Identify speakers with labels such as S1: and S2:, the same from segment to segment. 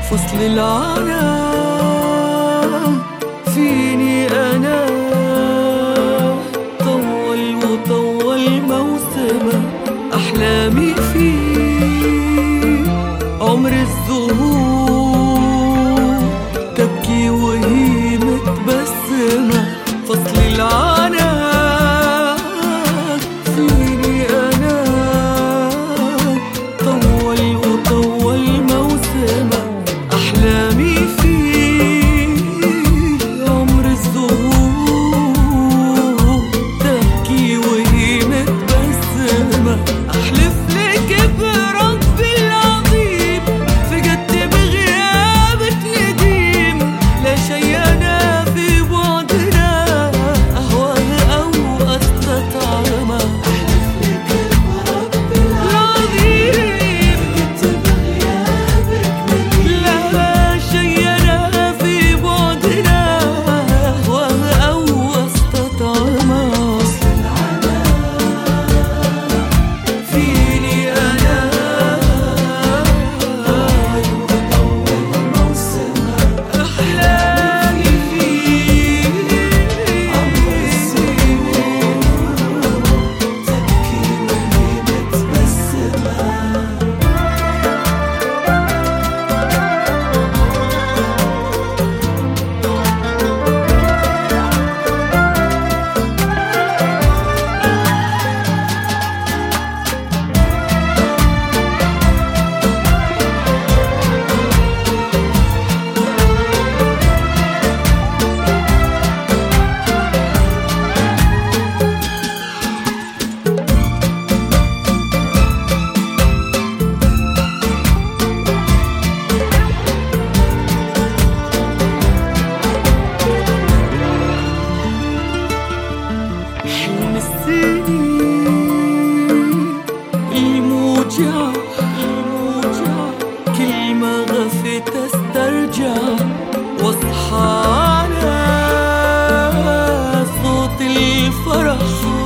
S1: فصل العناء فيني أنا طول وطول موسمه، أحلامي فيه عمر الزهور تبكي وهي متبسمة. فصل العناء فيني أنا طول وطول موسمه، أحلامي فيه عمر الزهور تبكي وهي متبسمة. أحلف لك برب العظيم فقدت بغيابك نديم، لا شي أنا في بعدنا أهواه أو أستطعمه. أحلف لك برب العظيم فقدت بغيابك نديم، لا شي أنا في بعدنا أهواه أو أستطعمه. فيني أنا أحلامي فيه عمر الزهور تبكي وهي متبسمة. حلم السنين الموجع كلمة غفت استرجع، واصحى على صوت الفرح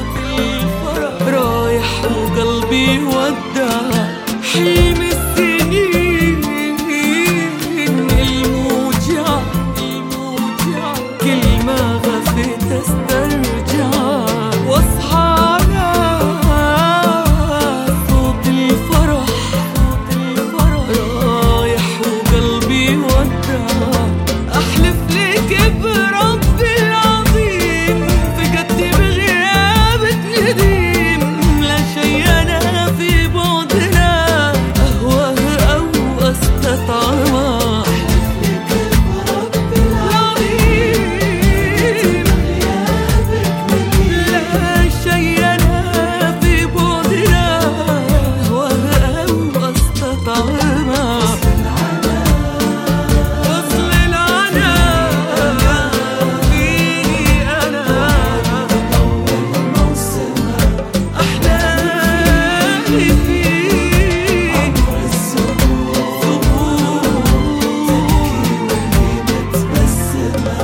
S1: رايح وقلبي ودع. حلم السنين الموجع كلمة غفت استرجع، واصحى على صوت الفرح رايح وقلبي ودع. أحلف لك برب العظيم فقدت بغيابك نديم، لا شي أنا في بعدنا أهواه أو أستطعمه. أحلف لك برب العظيم لا شي أنا في بعدنا أهواه أو أستطعمه. فصل العناء فيني أنا أحلامي فيه عمر الزهور تبكي وهي متبسمة.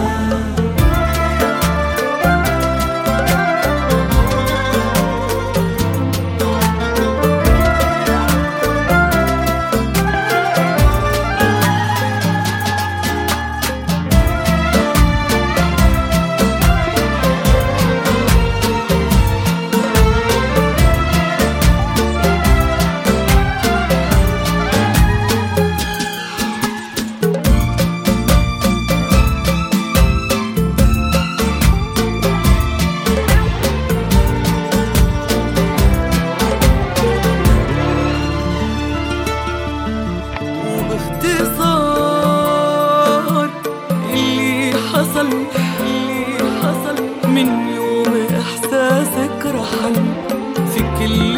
S1: وباختصار اللي حصل من يوم إحساسك رحل، في كل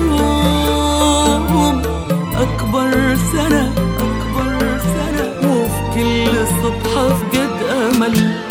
S1: يوم أكبر سنة وفي كل صبحة فقد أمل.